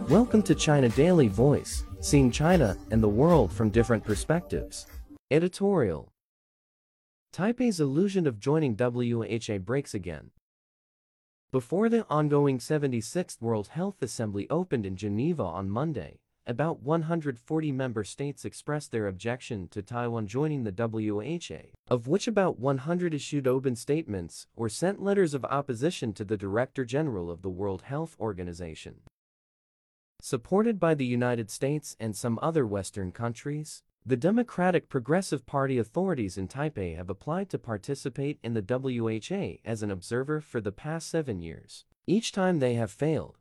Welcome to China Daily Voice, seeing China and the world from different perspectives. Editorial. Taipei's illusion of joining WHO breaks again. Before the ongoing 76th World Health Assembly opened in Geneva on Monday, about 140 member states expressed their objection to Taiwan joining the WHO, of which about 100 issued open statements or sent letters of opposition to the Director General of the World Health Organization. Supported by the United States and some other Western countries, the Democratic Progressive Party authorities in Taipei have applied to participate in the WHO as an observer for the past 7 years. Each time they have failed.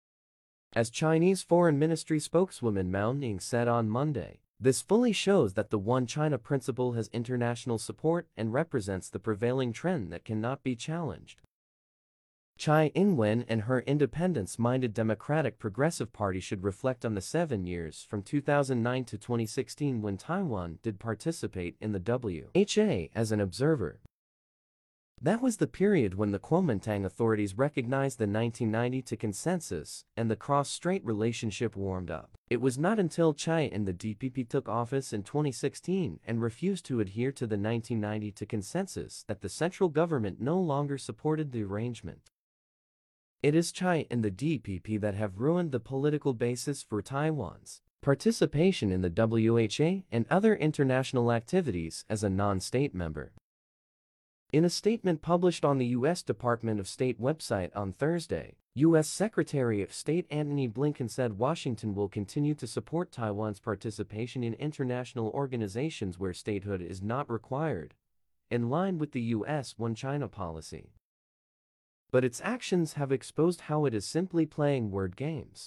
As Chinese Foreign Ministry spokeswoman Mao Ning said on Monday, this fully shows that the One China principle has international support and represents the prevailing trend that cannot be challenged. Tsai Ing-wen and her independence-minded Democratic Progressive Party should reflect on the 7 years from 2009 to 2016 when Taiwan did participate in the WHO as an observer. That was the period when the Kuomintang authorities recognized the 1992 consensus and the cross-strait relationship warmed up. It was not until Tsai and the DPP took office in 2016 and refused to adhere to the 1992 consensus that the central government no longer supported the arrangement. It is Tsai and the DPP that have ruined the political basis for Taiwan's participation in the WHO and other international activities as a non-state member. In a statement published on the U.S. Department of State website on Thursday, U.S. Secretary of State Antony Blinken said Washington will continue to support Taiwan's participation in international organizations where statehood is not required, in line with the U.S. One China policy. But its actions have exposed how it is simply playing word games.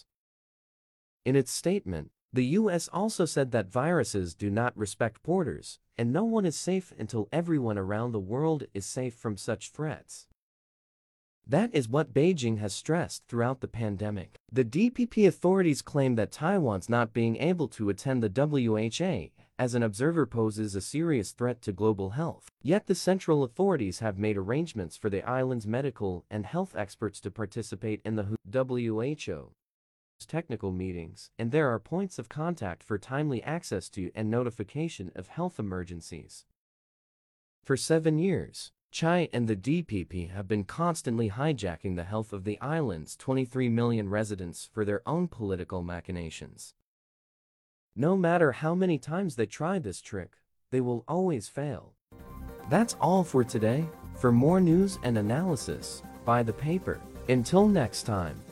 In its statement, the U.S. also said that viruses do not respect borders, and no one is safe until everyone around the world is safe from such threats. That is what Beijing has stressed throughout the pandemic. The DPP authorities claim that Taiwan's not being able to attend the WHO as an observer poses a serious threat to global health. Yet the central authorities have made arrangements for the island's medical and health experts to participate in the WHO technical meetings, and there are points of contact for timely access to and notification of health emergencies. For 7 years, Tsai and the DPP have been constantly hijacking the health of the island's 23 million residents for their own political machinations. No matter how many times they try this trick, they will always fail. That's all for today. For more news and analysis, buy the paper. Until next time.